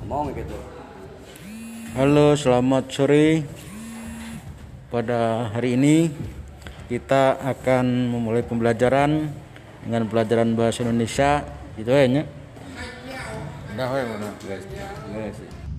ngomong gitu. Halo, selamat sore. Pada hari ini kita akan memulai pembelajaran dengan pelajaran bahasa Indonesia. Itu aja. Udah, mana guys.